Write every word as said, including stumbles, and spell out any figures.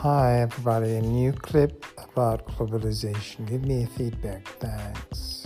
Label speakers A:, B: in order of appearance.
A: Hi everybody, a new clip about globalization. Give me a feedback, thanks.